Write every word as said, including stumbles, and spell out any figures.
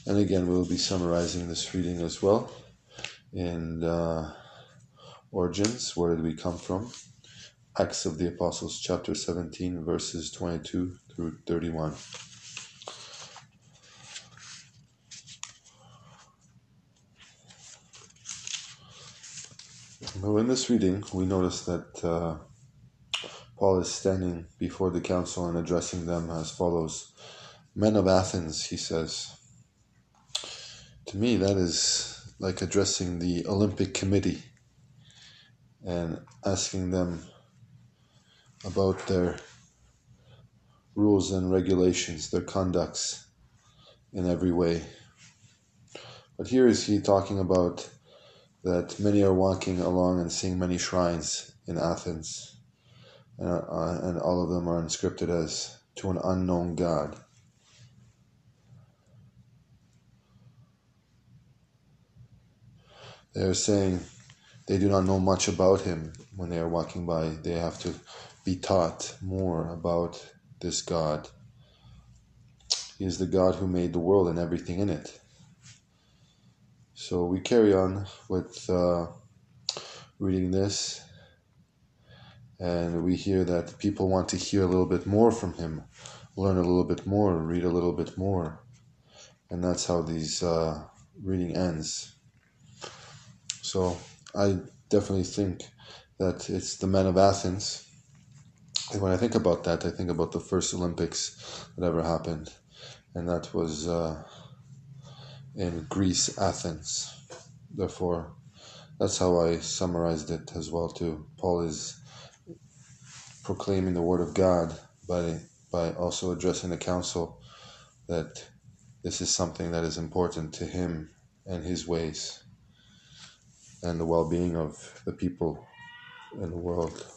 And again, we'll be summarizing this reading as well in uh, Origins. Where did we come from? Acts of the Apostles, chapter seventeen, verses twenty-two through thirty-one. Now, in this reading, we notice that uh, Paul is standing before the council and addressing them as follows. Men of Athens, he says. To me, that is like addressing the Olympic Committee and asking them about their rules and regulations, their conducts in every way. But here is he talking about that many are walking along and seeing many shrines in Athens, and, uh, and all of them are inscripted as to an unknown God. They are saying they do not know much about him when they are walking by. They have to be taught more about this God. He is the God who made the world and everything in it. So we carry on with uh, reading this, and we hear that people want to hear a little bit more from him, learn a little bit more, read a little bit more. And that's how these uh, reading ends. So I definitely think that it's the men of Athens. And when I think about that, I think about the first Olympics that ever happened. And that was uh, in Greece, Athens. Therefore, that's how I summarized it as well too. Paul is proclaiming the word of God by, by also addressing the council that this is something that is important to him and his ways, and the well-being of the people in the world.